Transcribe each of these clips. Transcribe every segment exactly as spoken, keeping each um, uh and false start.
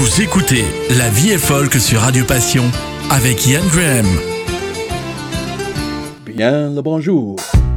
Vous écoutez La Vie est folk sur Radio Passion avec Ian Graham. Bien le bonjour.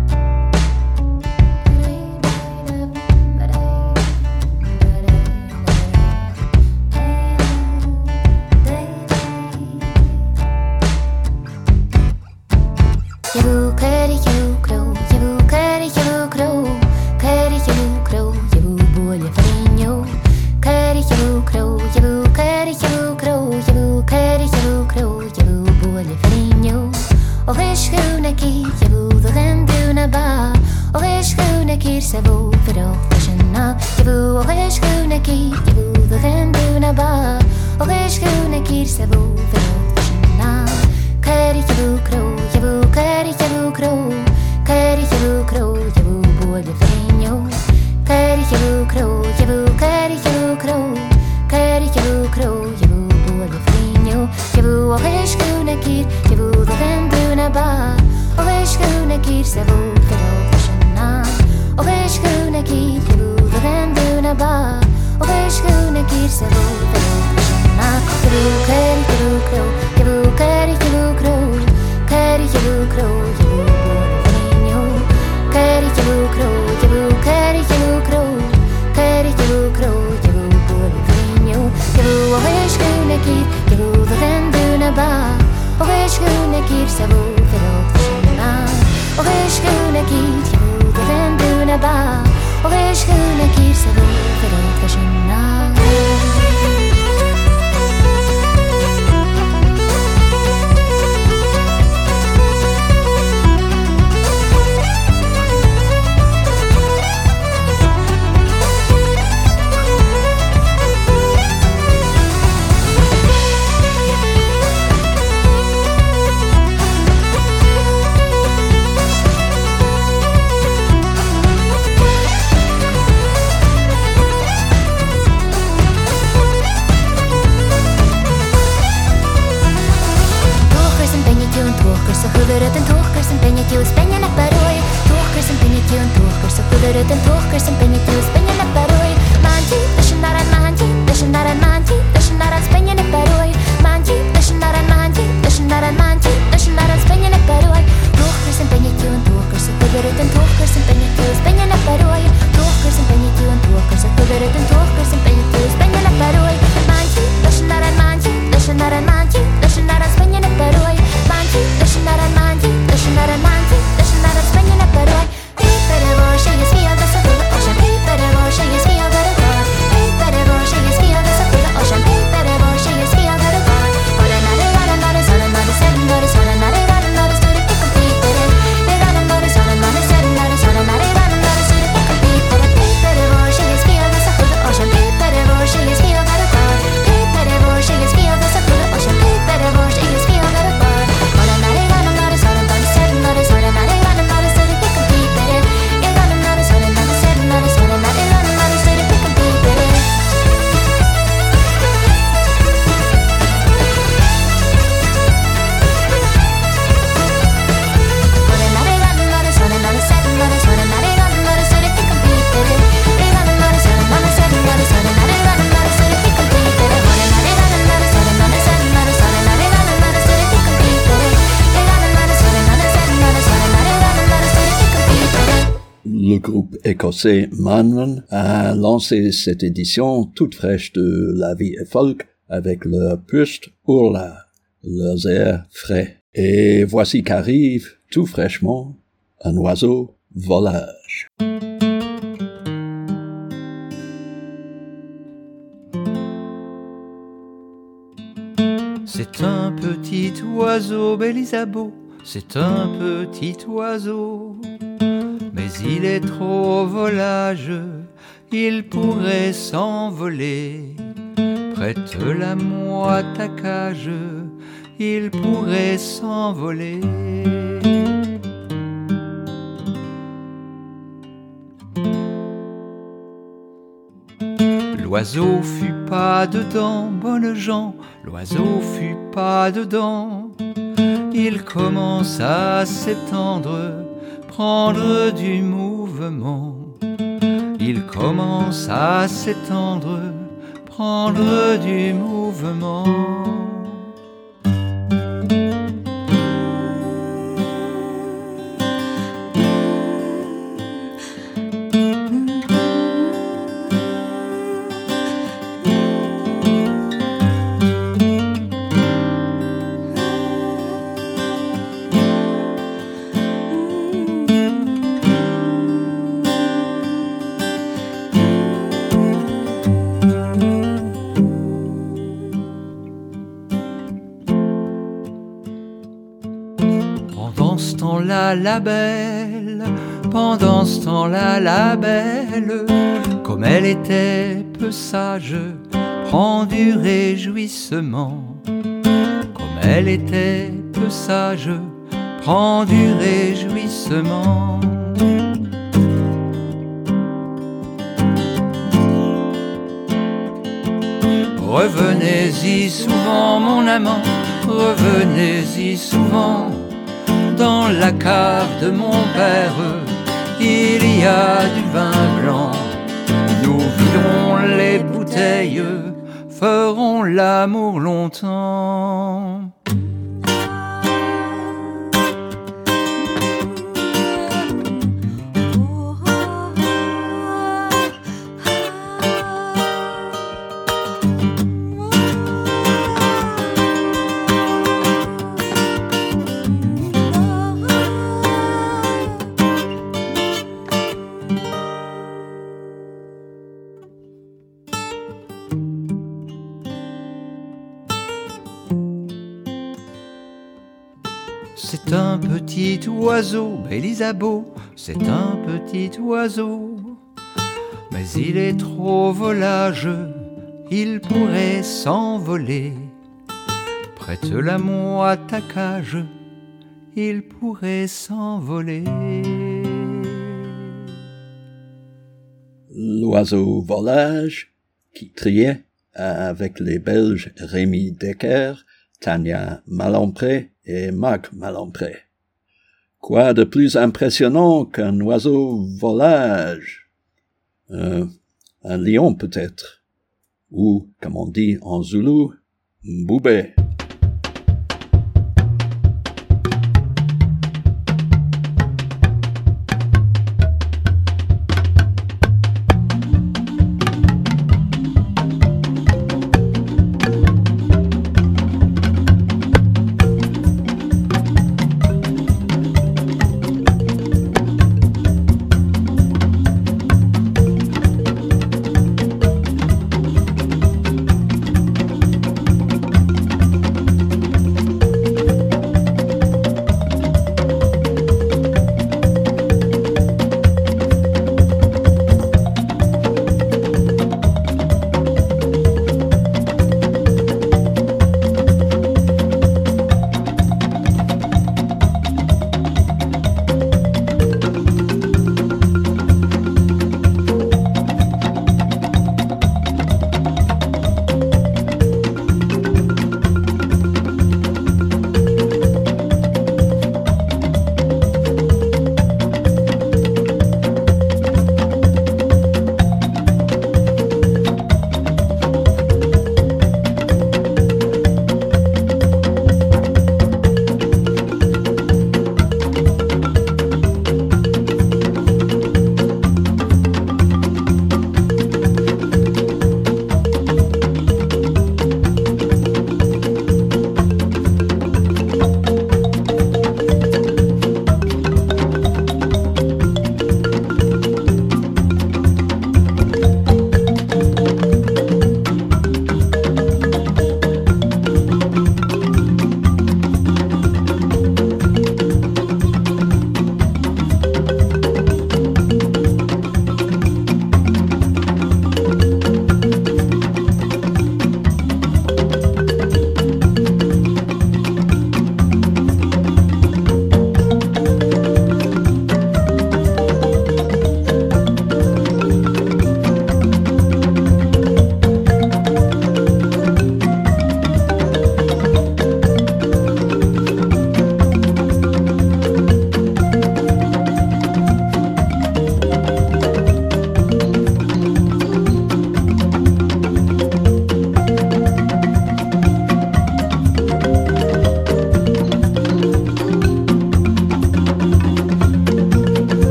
Le groupe écossais Manman a lancé cette édition toute fraîche de La Vie est folk avec leur Pust Urla, leurs airs frais. Et voici qu'arrive, tout fraîchement, un oiseau volage. C'est un petit oiseau, Bélisabo, c'est un petit oiseau. Mais il est trop volage, il pourrait s'envoler. Prête-la-moi ta cage, il pourrait s'envoler. L'oiseau fut pas dedans, bonnes gens, l'oiseau fut pas dedans. Il commence à s'étendre, prendre du mouvement. Il commence à s'étendre, prendre du mouvement. Pendant ce temps-là, la belle, pendant ce temps-là, la belle, comme elle était peu sage, prend du réjouissement. Comme elle était peu sage, prend du réjouissement. Revenez-y souvent, mon amant, revenez-y souvent. Dans la cave de mon père, il y a du vin blanc. Nous viderons les bouteilles, ferons l'amour longtemps. C'est un petit oiseau, Bélisabo, c'est un petit oiseau. Mais il est trop volage, il pourrait s'envoler. Prête-la-moi à ta cage, il pourrait s'envoler. L'oiseau volage qui triait avec les Belges Rémi Decker, Tania Malompré et Marc Malompré. Quoi de plus impressionnant qu'un oiseau volage? Euh, un lion peut-être, ou, comme on dit en zoulou, mboubé.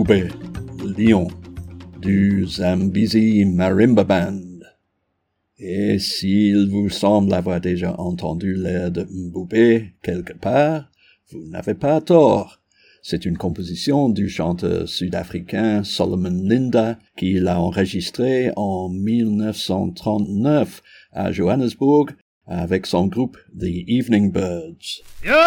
Mboubé, Lion, du Zambezi Marimba Band. Et s'il vous semble avoir déjà entendu l'air de Mboubé quelque part, vous n'avez pas tort. C'est une composition du chanteur sud-africain Solomon Linda qui l'a enregistré en dix-neuf cent trente-neuf à Johannesburg avec son groupe The Evening Birds.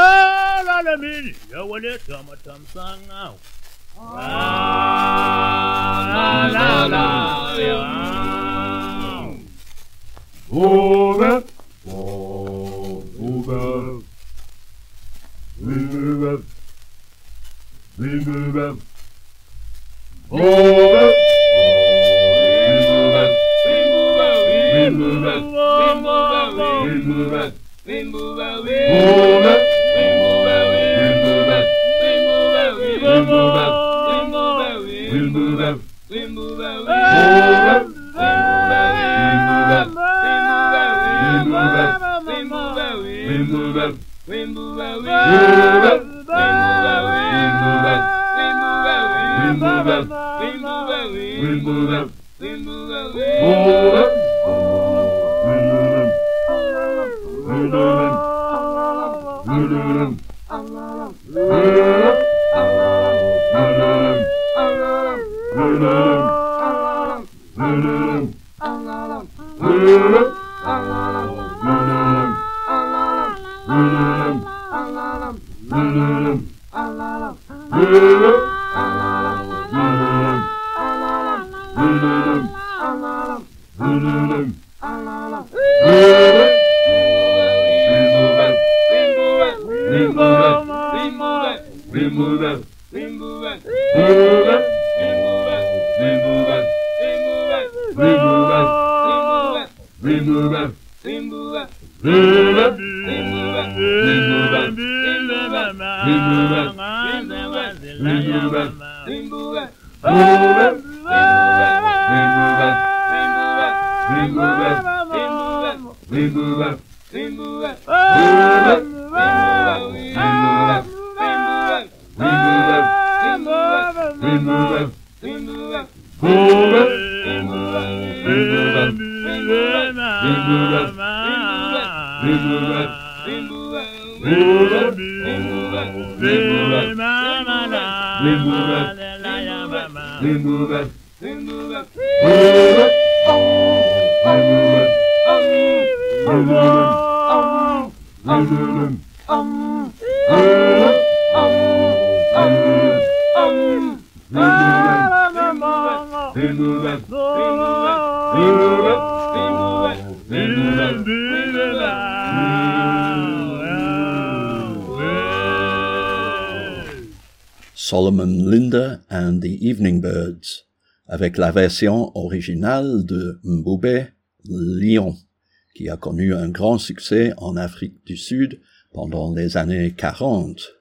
Solomon Linda and the Evening Birds, avec la version originale de Mboubé, Lion, qui a connu un grand succès en Afrique du Sud pendant les années quarante.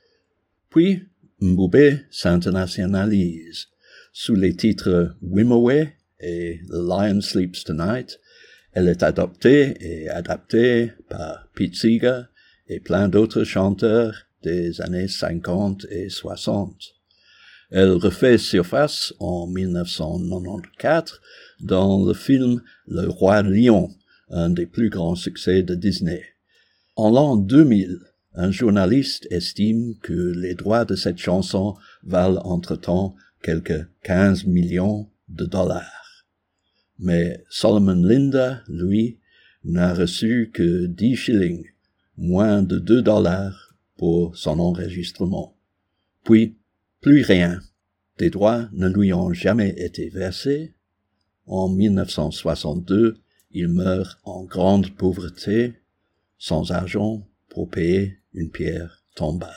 Puis, Mboubé s'internationalise sous les titres Wimoweh et The Lion Sleeps Tonight. Elle est adoptée et adaptée par Pete Seeger et plein d'autres chanteurs des années cinquante et soixante. Elle refait surface en dix-neuf cent quatre-vingt-quatorze dans le film Le Roi Lion, un des plus grands succès de Disney. En l'an deux mille, un journaliste estime que les droits de cette chanson valent entre-temps quelques quinze millions de dollars. Mais Solomon Linda, lui, n'a reçu que dix shillings, moins de deux dollars pour son enregistrement. Puis, plus rien. Des droits ne lui ont jamais été versés. En dix-neuf cent soixante-deux, il meurt en grande pauvreté, sans argent pour payer une pierre tombale.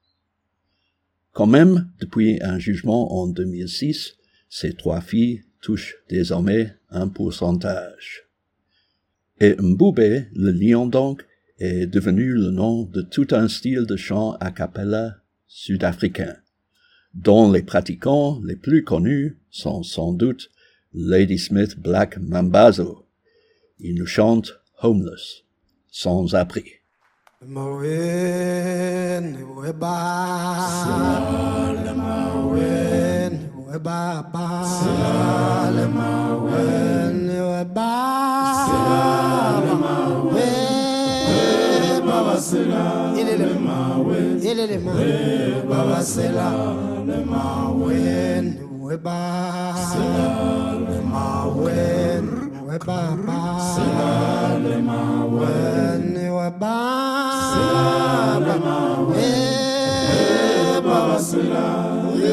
Quand même, depuis un jugement en deux mille six, ces trois filles touchent désormais un pourcentage. Et Mboubé, le lion donc, est devenu le nom de tout un style de chant a cappella sud-africain, dont les pratiquants les plus connus sont sans doute Ladysmith Black Mambazo. Il nous chante Homeless, sans abri. Mawin, Weba, Mawin. Baba Salamawe Salamawe Baba Salamawe Baba Salamawe Baba Salamawe Baba Salamawe Baba Salamawe Baba Salamawe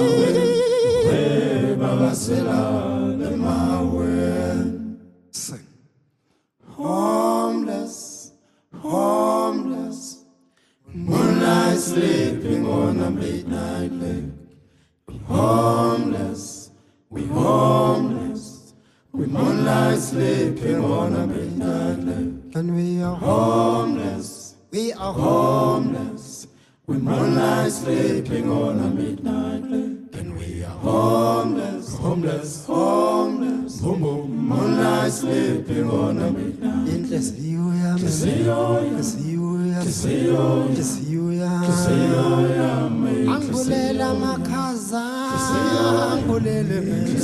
Baba Salamawe. Sing. Homeless, homeless, moonlight sleeping on a midnight lake. Homeless, we homeless, we moonlight sleeping on a midnight lake. And we are homeless, we are homeless, we moonlight sleeping on a midnight lake. And we are homeless, homeless, homeless, boom boom, moonlight sleeping on a midnight. Endless view, yeah, Angulela makaza, angulele mena,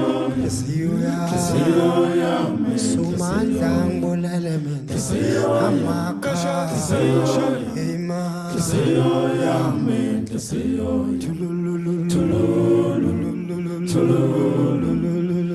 Sumanda angulele mena, Amaka, Ema, Tulululu, Tulululu, Tulululu,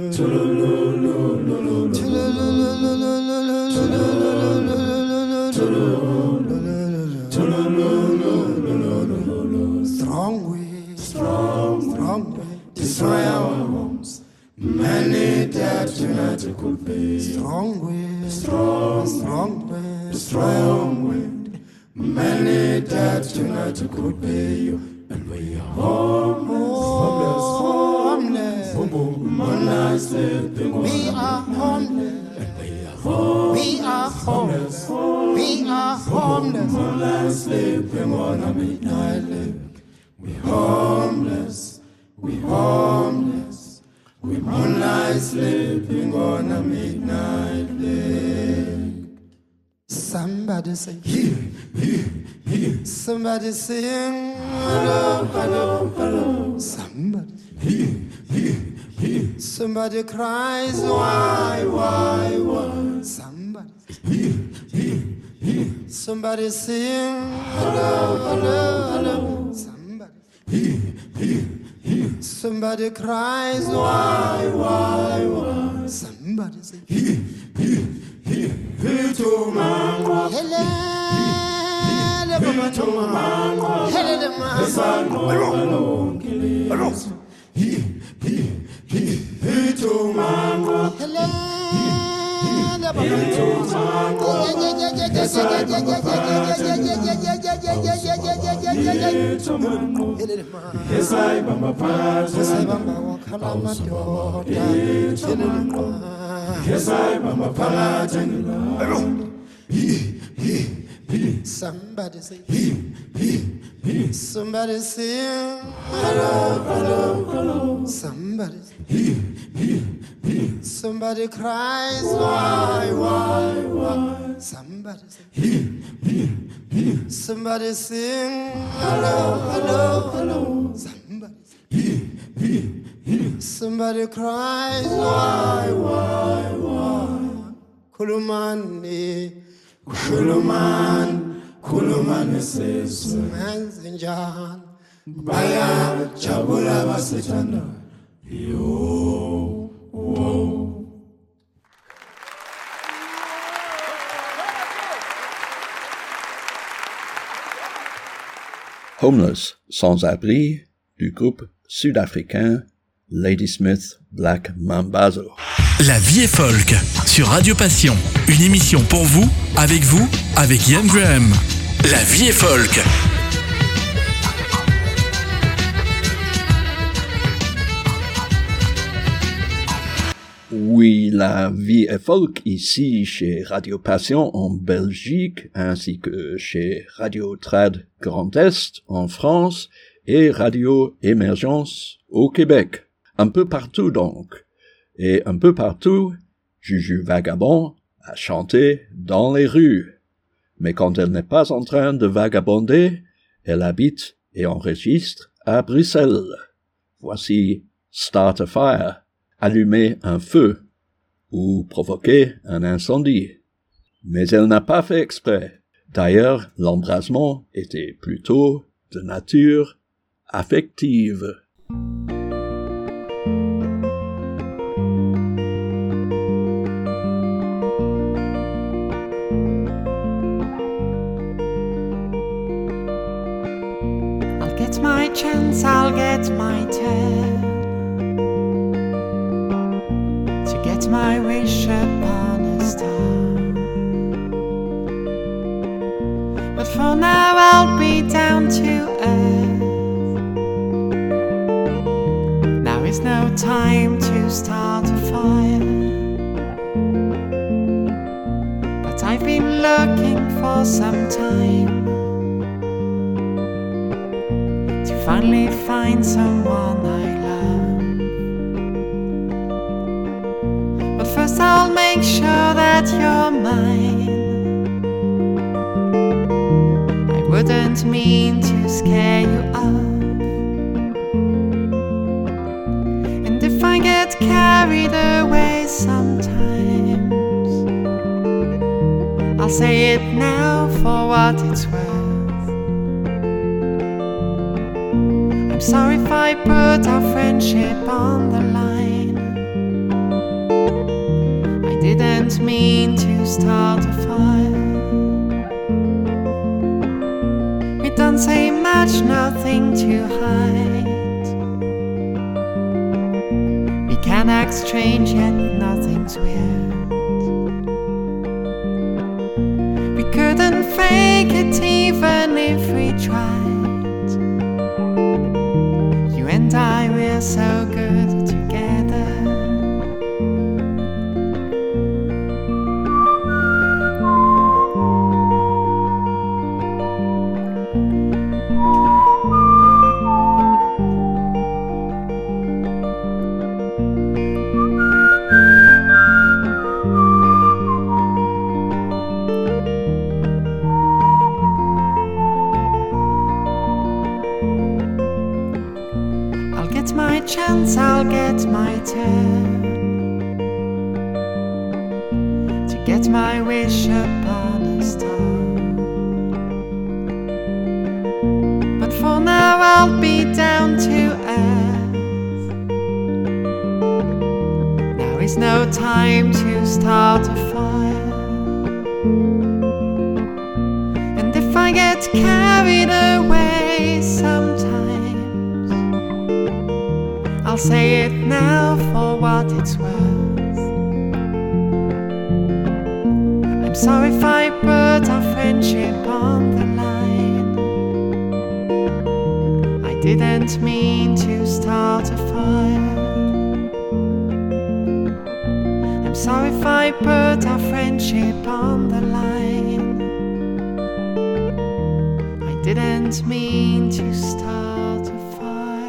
Strong wind, strong, strong wind, destroy our homes. Many dead tonight could be. Strong wind, strong, strong wind, destroy our wind. Many dead tonight could be. And we are homeless, homeless, homeless. Boom, boom, moonlight sleeping. We are homeless. We are homeless. We are homeless. Moonlight sleeping on a midnight lake. We homeless. We homeless. We moonlight sleeping on a midnight lake. Somebody sing. Here, here, here. Somebody sing. Hello, hello, hello. Somebody. Here, here, here. Somebody cries. Why, why, why? Somebody. Here, here, here. Somebody sing. Hello, hello, hello. Somebody. Here, here, here. Somebody cries. Why, why, why? Somebody sing. Here, here, here. Here to mango. Hello. Here to mango. Hello, the mango. Hello, hello. Here, here, here. Here to mango. Hello. Yes, I am a part. Yes, I am a part. Somebody say, somebody sing. Hello, hello, hello. Somebody say, somebody cries. Why, why, why? Somebody say, somebody sing. Hello, hello, hello. Somebody say, somebody cries. Why, why, why? Kulumani, Kuluman, Kuluman says, Manzinjan, Baya, Chabula Vasitana, yo, whoa. Homeless, sans-abri, du groupe sud-africain Ladysmith Black Mambazo. La vie est folk sur Radio Passion. Une émission pour vous, avec vous, avec Ian Graham. La vie est folk. Oui, la vie est folk ici chez Radio Passion en Belgique, ainsi que chez Radio Trad Grand Est en France et Radio Émergence au Québec. Un peu partout donc. Et un peu partout, Juju Vagabond a chanté dans les rues. Mais quand elle n'est pas en train de vagabonder, elle habite et enregistre à Bruxelles. Voici start a fire, allumer un feu, ou provoquer un incendie. Mais elle n'a pas fait exprès. D'ailleurs, l'embrasement était plutôt de nature affective. I'll get my chance, I'll get my turn to get my wish upon a star. But for now I'll be down to earth. Now is no time to start a fire. But I've been looking for some time to finally find someone I love. But first I'll make sure that you're mine. Wouldn't mean to scare you up. And if I get carried away sometimes, I'll say it now for what it's worth. I'm sorry if I put our friendship on the line. I didn't mean to start a fire. Don't say much, nothing to hide. We can act strange yet nothing's weird. We couldn't fake it even if we tried. You and I, we're so good together. Chance, I'll get my turn to get my wish upon a star. But for now I'll be down to earth. Now is no time to start a fire. And if I get carried away sometimes, I'll say it now for what it's worth. I'm sorry if I put our friendship on the line. I didn't mean to start a fire. I'm sorry if I put our friendship on the line. I didn't mean to start a fire.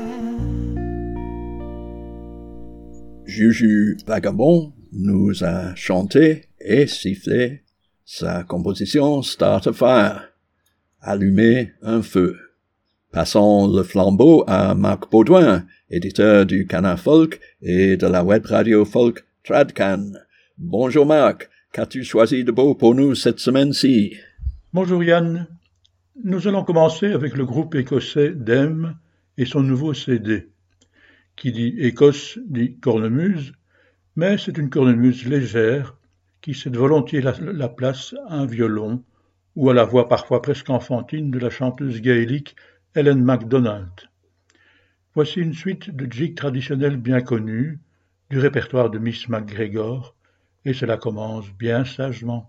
Juju Vagabond nous a chanté et sifflé sa composition Start a Fire, allumer un feu. Passons le flambeau à Marc Baudouin, éditeur du Canard Folk et de la web radio folk Tradcan. Bonjour Marc, qu'as-tu choisi de beau pour nous cette semaine-ci? Bonjour Yann, nous allons commencer avec le groupe écossais Dem et son nouveau C D. Qui dit Écosse dit cornemuse, mais c'est une cornemuse légère qui cède volontiers la, la place à un violon ou à la voix parfois presque enfantine de la chanteuse gaélique Helen MacDonald. Voici une suite de jigs traditionnels bien connus, du répertoire de Miss MacGregor, et cela commence bien sagement.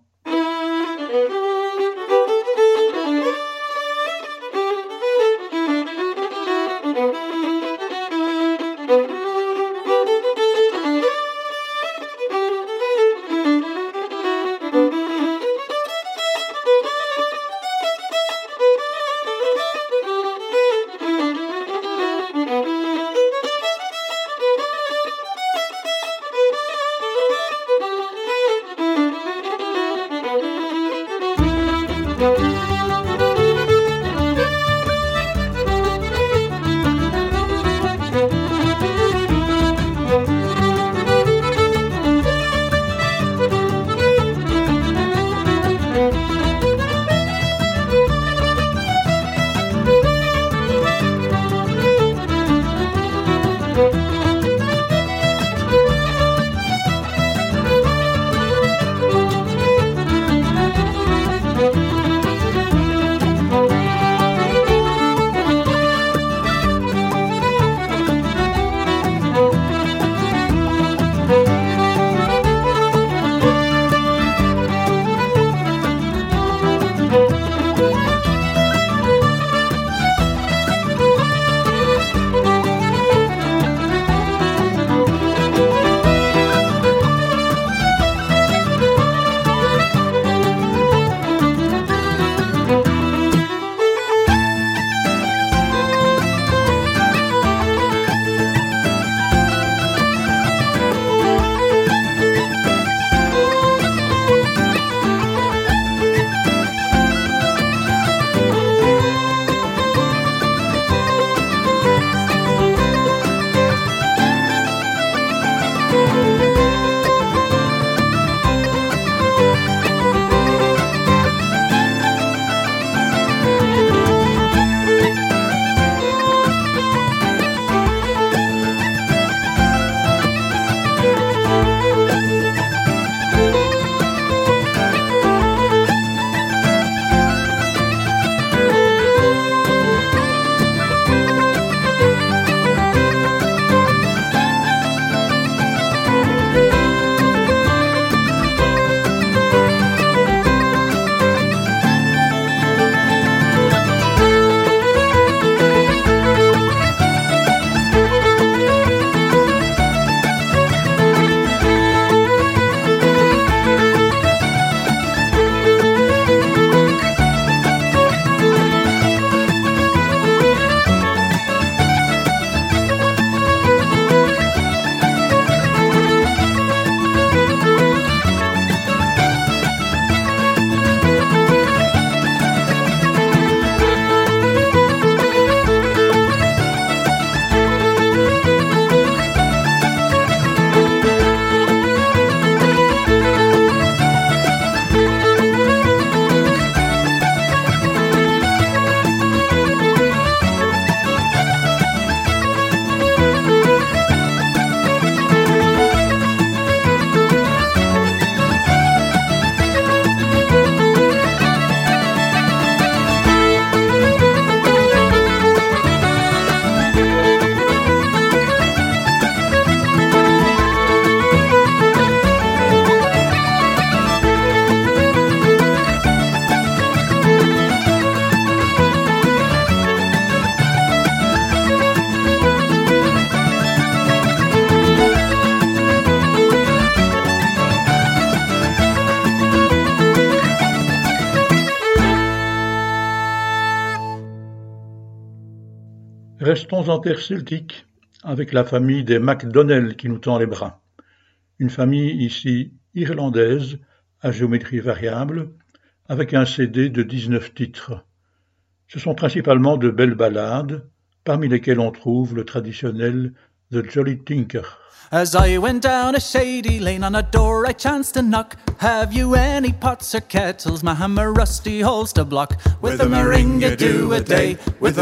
Restons en terre celtique, avec la famille des MacDonnell qui nous tend les bras. Une famille ici irlandaise, à géométrie variable, avec un C D de dix-neuf titres. Ce sont principalement de belles ballades, parmi lesquelles on trouve le traditionnel The Jolly Tinker. As I went down a shady lane, on a door I chanced to knock. Have you any pots or kettles, ma'am, a rusty holes to block? With a meringa-do-a-day, with a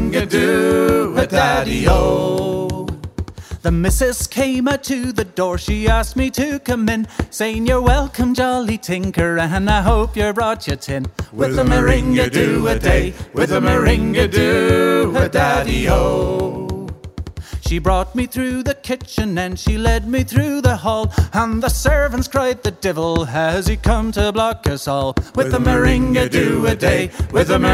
meringa-do-a-daddy-o. The missus came out to the door, she asked me to come in, saying you're welcome, jolly tinker, and I hope you brought your tin. With a meringa-do-a-day, with a meringa-do-a-daddy-o. She brought me through the kitchen and she led me through the hall, and the servants cried, the devil has he come to block us all. With a meringa-do-a-day, with a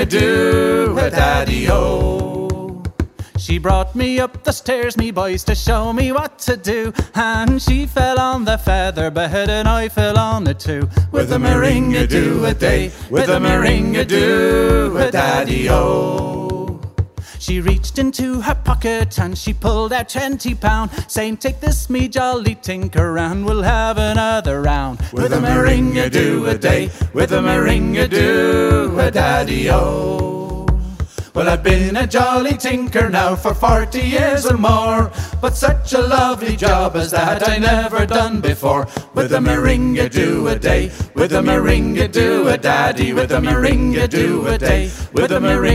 meringa-do-a-daddy-o. She brought me up the stairs, me boys, to show me what to do, and she fell on the feather bed and I fell on it too. With a meringa-do-a-day, with a meringa-do-a-daddy-o. She reached into her pocket and she pulled out twenty pound, saying, take this, me jolly tinker, and we'll have another round. With a meringa-do-a-day, with a meringa-do-a-daddy-o. Well, I've been a jolly tinker now for forty years or more, but such a lovely job as that I never done before. With a meringa-do-a-day, with a meringa-do-a-daddy, with a meringa-do-a-day, with a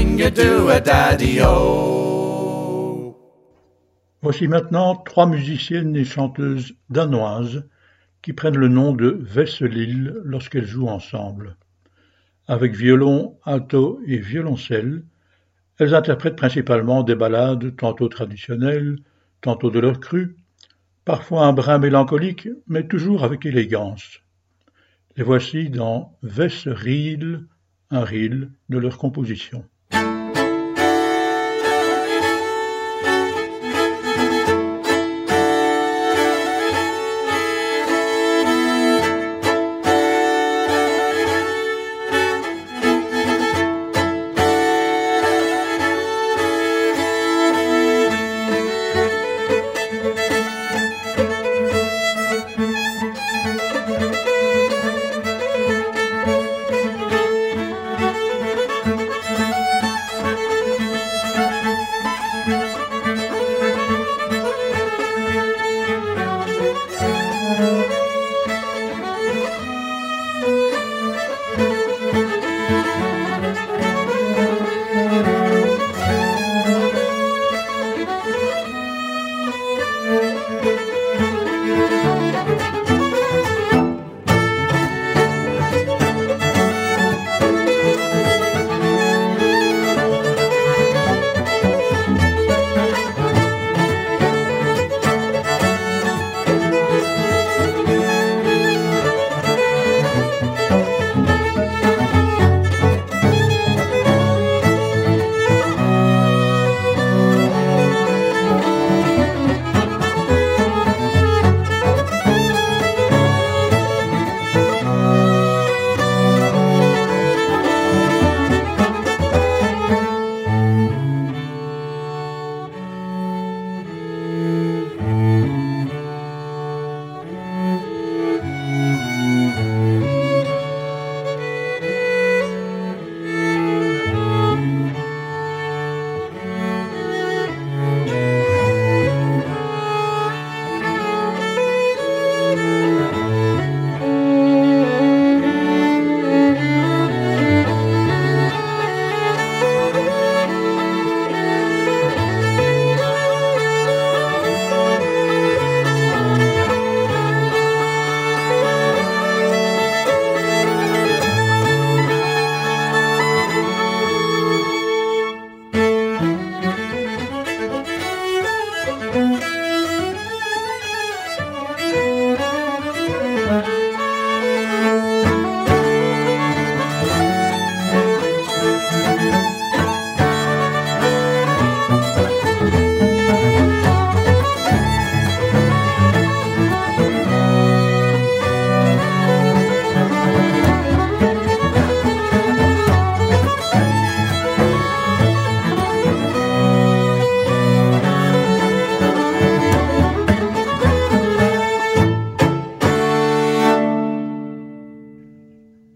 meringa-do-a-daddy-o. Voici maintenant trois musiciennes et chanteuses danoises qui prennent le nom de Vesselil lorsqu'elles jouent ensemble. Avec violon, alto et violoncelle, elles interprètent principalement des ballades tantôt traditionnelles, tantôt de leur cru, parfois un brin mélancolique, mais toujours avec élégance. Les voici dans Vesselil, un reel de leur composition.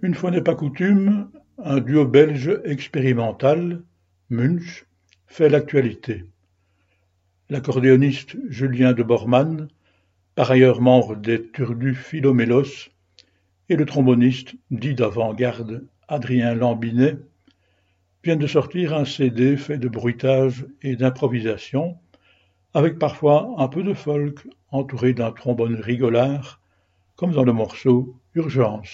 Une fois n'est pas coutume, un duo belge expérimental, Munch, fait l'actualité. L'accordéoniste Julien de Bormann, par ailleurs membre des Turdus Philomélos, et le tromboniste dit d'avant-garde Adrien Lambinet viennent de sortir un C D fait de bruitage et d'improvisation, avec parfois un peu de folk entouré d'un trombone rigolard, comme dans le morceau Urgence.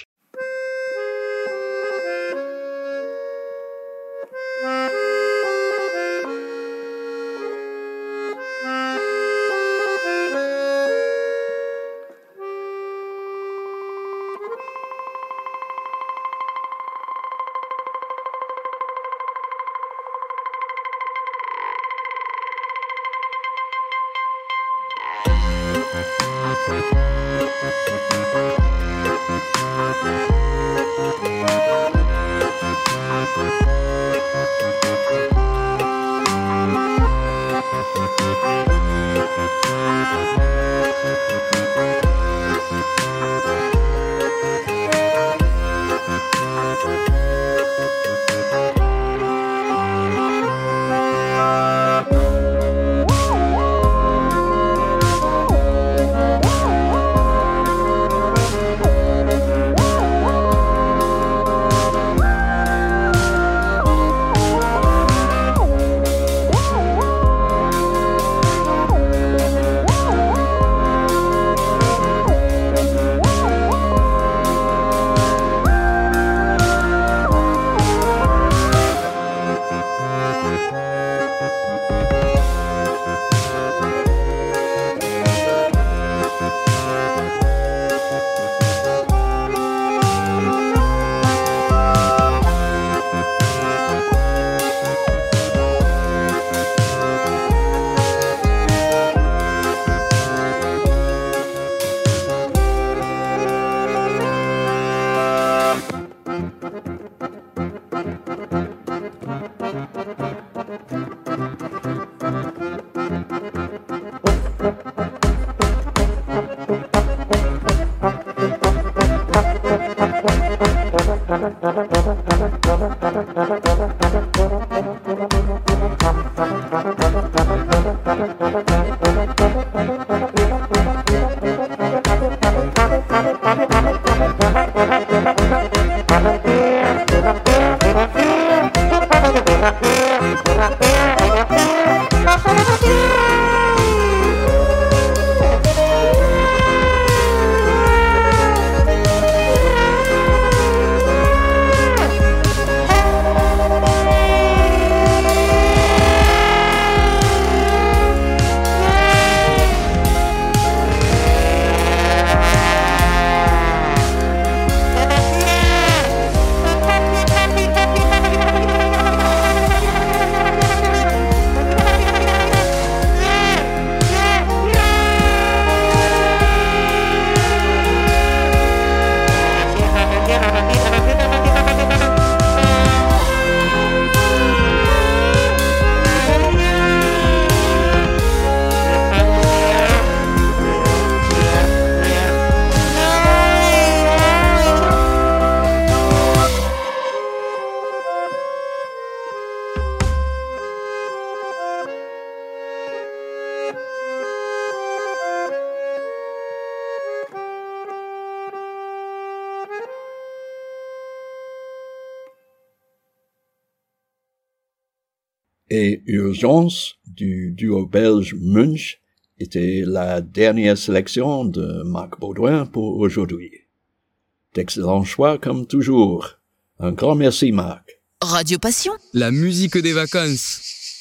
Et Urgence du duo belge Munch était la dernière sélection de Marc Baudouin pour aujourd'hui. D'excellents choix comme toujours. Un grand merci Marc. Radio Passion, la musique des vacances.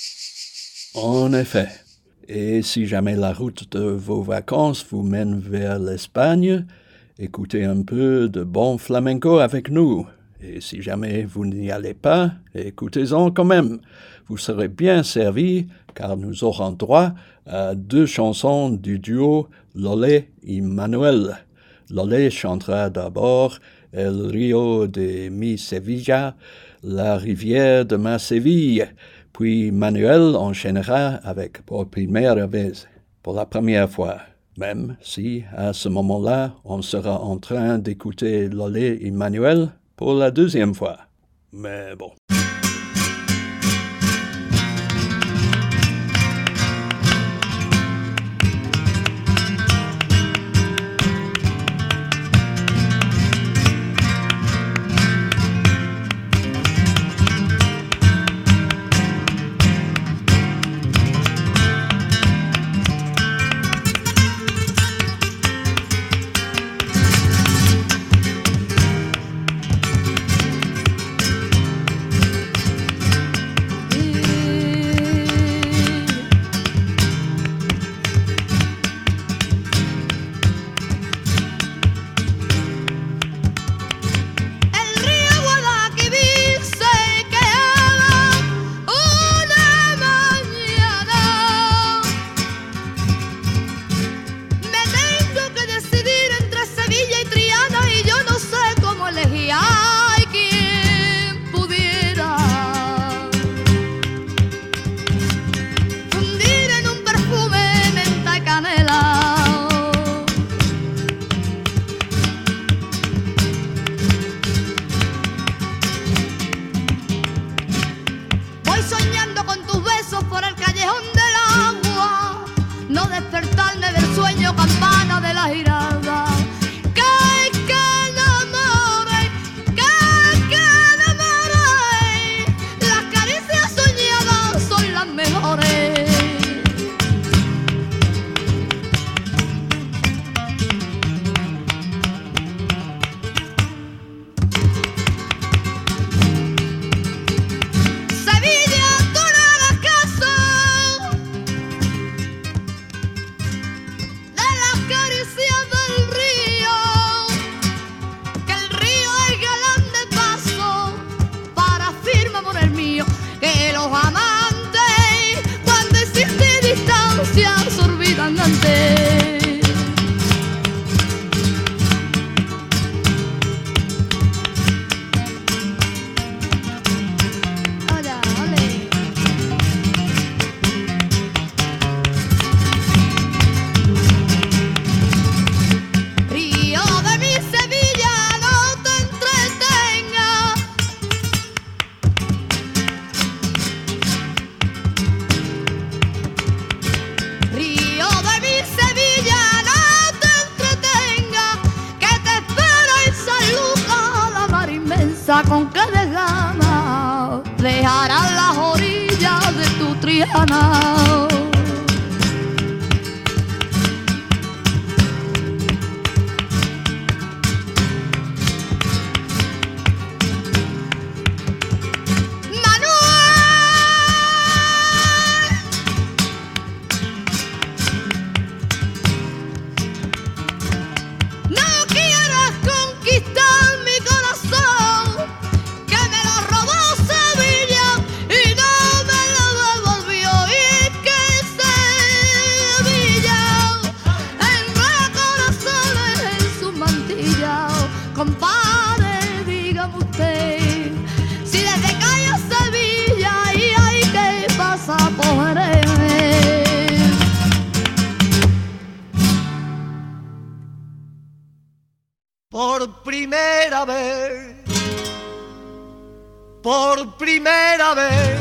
En effet. Et si jamais la route de vos vacances vous mène vers l'Espagne, écoutez un peu de bon flamenco avec nous. Et si jamais vous n'y allez pas, écoutez-en quand même. Vous serez bien servis car nous aurons droit à deux chansons du duo Lolé et Manuel. Lolé chantera d'abord El Rio de mi Sevilla, la rivière de ma Séville, puis Manuel enchaînera avec Por primera vez, pour la première fois. Même si, à ce moment-là, on sera en train d'écouter Lolé et Manuel, pour la deuxième fois. Mais bon. Con que desgana dejarán las orillas de tu Triana. Por primera vez, por primera vez,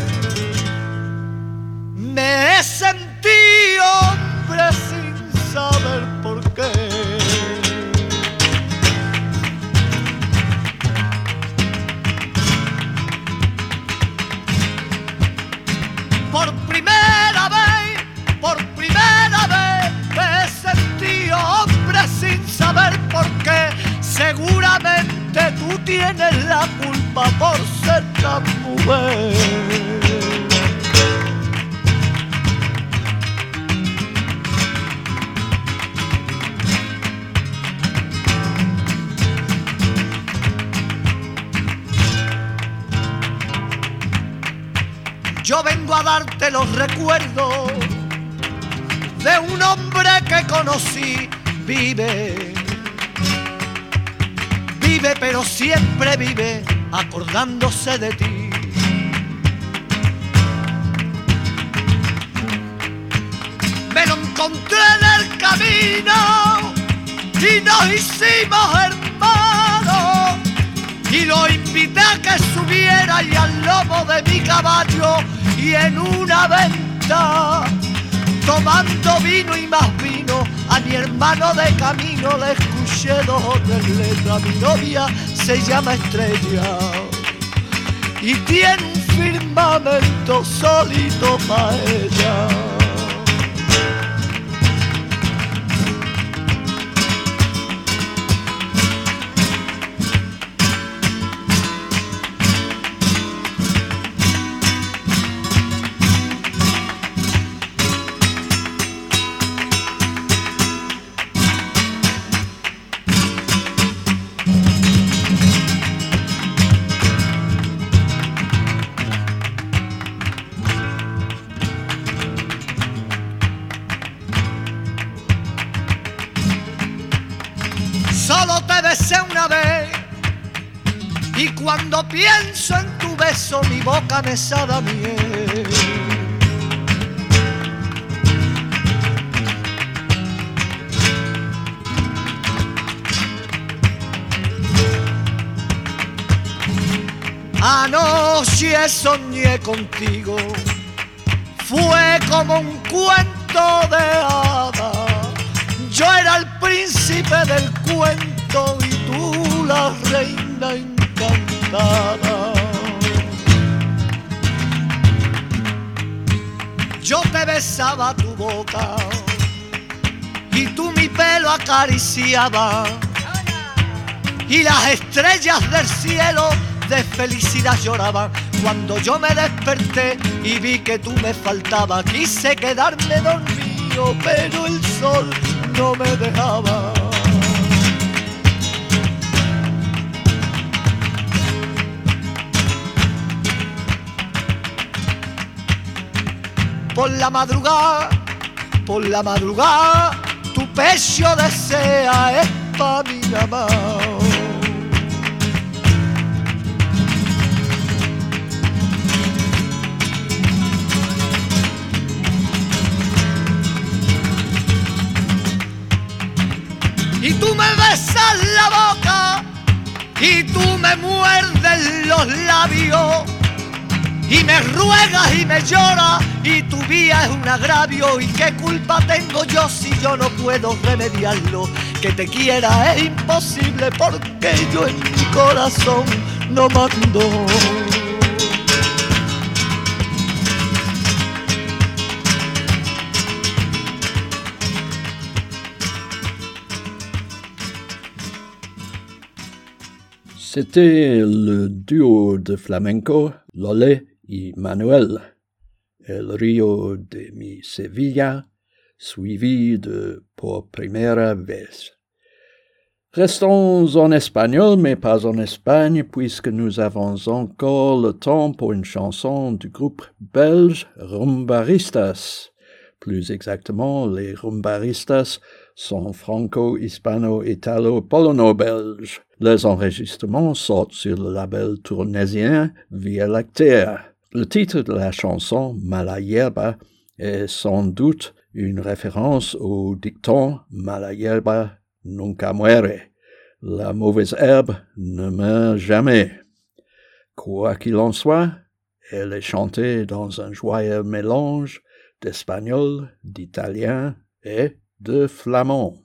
me he sentido hombre sin saber por qué. Por primera vez, por primera vez, me he sentido hombre sin saber por qué. Seguramente tú tienes la culpa por ser tan mujer. Yo vengo a darte los recuerdos de un hombre que conocí, vive. Vive, pero siempre vive acordándose de ti. Me lo encontré en el camino y nos hicimos hermanos y lo cadera y al lomo de mi caballo, y en una venta, tomando vino y más vino, a mi hermano de camino le escuché dos o tres letras. Mi novia se llama Estrella y tiene un firmamento solito para ella. Solo te besé una vez y cuando pienso en tu beso mi boca me sabe a miel. Anoche soñé contigo, fue como un cuento de hadas. Yo era el príncipe del cuento y tú la reina encantada. Yo te besaba tu boca y tú mi pelo acariciabas, y las estrellas del cielo de felicidad lloraban. Cuando yo me desperté y vi que tú me faltabas, quise quedarme dormido, pero el sol no me dejaba. Por la madrugada, por la madrugada, tu pecho desea es pa' mi mamá. Y tú me besas la boca y tú me muerdes los labios y me ruegas y me lloras y tu vida es un agravio. ¿Y qué culpa tengo yo si yo no puedo remediarlo? Que te quiera es imposible porque yo en mi corazón no mando. C'était le duo de flamenco Lolé y Manuel, El Río de mi Sevilla, suivi de Por primera vez. Restons en espagnol, mais pas en Espagne, puisque nous avons encore le temps pour une chanson du groupe belge Rumbaristas. Plus exactement, les Rumbaristas sont franco-hispano-italo-polono-belges. Les enregistrements sortent sur le label tournaisien Via Lactea. Le titre de la chanson, Mala hierba, est sans doute une référence au dicton Mala hierba nunca muere. La mauvaise herbe ne meurt jamais. Quoi qu'il en soit, elle est chantée dans un joyeux mélange d'espagnol, d'italien et de flamand.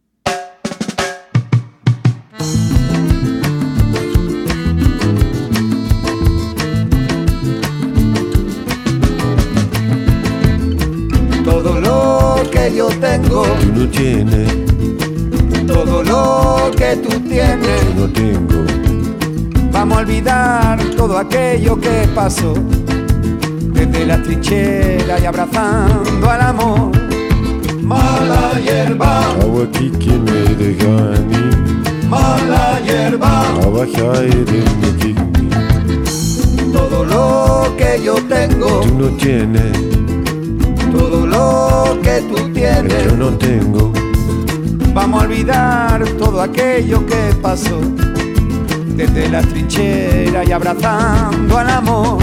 Todo lo que yo tengo, tú no tienes. Todo lo que tú tienes, yo no tengo. Vamos a olvidar todo aquello que pasó, desde la trinchera y abrazando al amor. Mala hierba, agua que me de gani. Mala hierba, agua de mi. Todo lo que yo tengo, tú no tienes. Todo lo que tú tienes, yo no tengo. Vamos a olvidar todo aquello que pasó, desde la trinchera y abrazando al amor.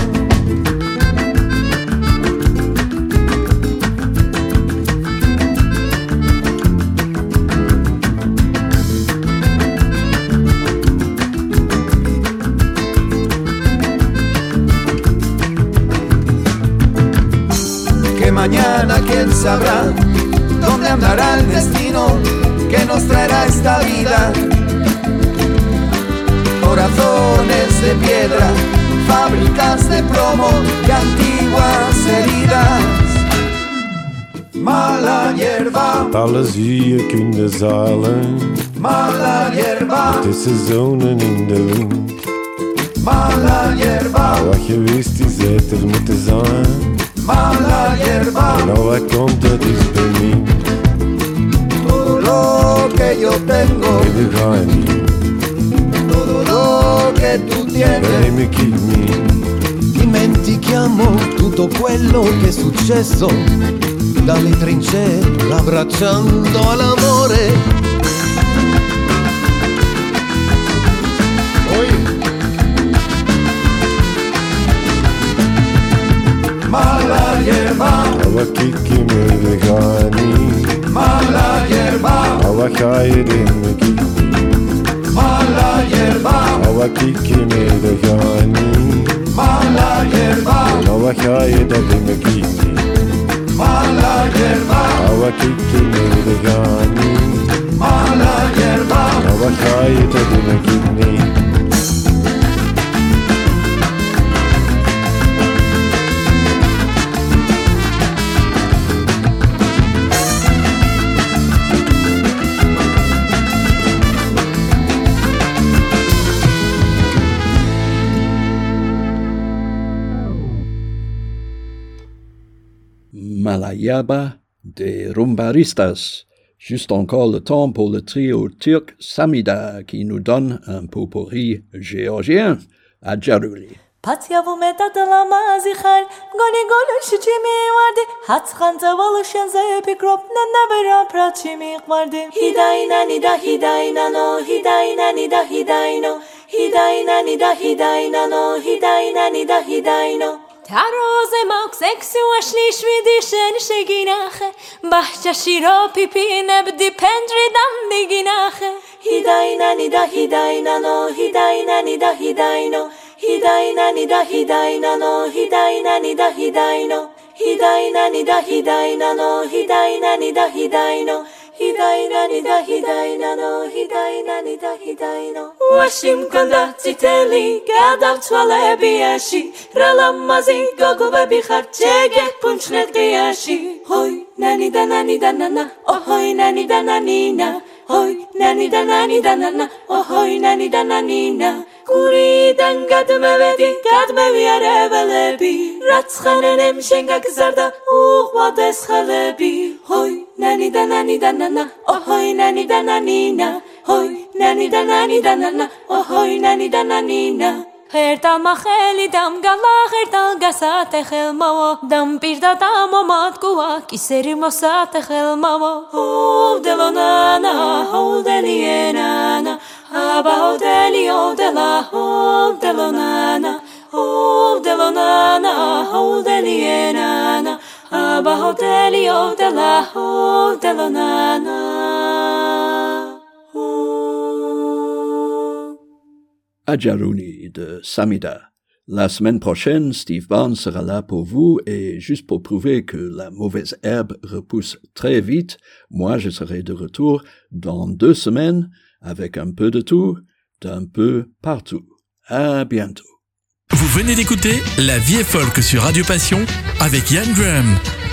mañana quién sabrá dónde andará el destino que nos traerá esta vida. Corazones de piedra, fábricas de plomo y antiguas heridas. Mala hierba, Alles wie je kunnen zeilen, mala hierba, tussen zonen in de wind. mala hierba, Wat je wist is dat er moeten zijn, mala hierba. en al wat komt dat is bemind. Todo lo que yo tengo, En de ga je niet, todo lo che tu tienes. neem ik het mee. Dimentichiamo tutto quello che è successo dalle trincee, abbracciando all'amore. Mala hierba, Al wat kijk je mee, de ga je niet. mala hierba, Al wat ga je doen, ik niet. mala hierba, Al wat kijk je mee, de ga je niet. mala hierba, En al wat ga je, dat doe ik niet. mala hierba, Al wat kijk je mee, de ga je niet. mala hierba. En al wat ga je, dat doe ik niet. Mala hierba des Rumbaristas. Juste encore le temps pour le trio turc Samida qui nous donne un potpourri géorgien à Djarouli. Patyavu metadala mazihar, goni goni şiçimi vardı. Hatskanta valışın zepi krop ne nevera praçimi vardı. Hidayna nida hidayna no, hidayna nida hidayno. Hidayna nida hidayna no, hidayna nida hidayno. تراز ماکسکس و اشلیش ویدی شن شگیناخه بحجه شیرا پیپی نبدی پندری دم دیگیناخه هیداینا نیدا هیداینا نو هیداینا نیدا هیداینا هیداینا نیدا هیداینا نو هیداینا نیدا هیداینا هیداینا نیدا هیداینا نو هیداینا نیدا هیداینا هیداینا نیدا هیداینا نو هیداینا نیدا هیداینا واشیم کنده تیتلی گادم توله بیاشی رلمازی گاگو ببی خرچگه پونچنت قیاشی هوی نانی دا نانی دا نانا اوهوی نانی دا نانینا هوی نانی دا نانی دا نانا اوهوی نانی دا نانینا گوریدن قدمه بدی قدمه بیاره بلبی رتخاننم شنگک زرده اوغ وادس خلبی هوی نانی دا نانی دا نانا اوهوی نانی دا نانینا هوی نانی دا نانی دا نانا اوهوی نانی دا نانینا هرتال ما خیلی دم گلا هرتال گسات خیل ما دم پیردا دم آمد گوا کی سری مسات خیل ما او دلونا او دلینا ابا دلی او دلا او دلونا او دلونا او دلینا ابا دلی او دلا او دلونا À Djarouli de Samida. La semaine prochaine, Steve Barnes sera là pour vous et juste pour prouver que la mauvaise herbe repousse très vite, moi je serai de retour dans deux semaines avec un peu de tout, d'un peu partout. À bientôt. Vous venez d'écouter La Vie est folk sur Radio Passion avec Yann Graham.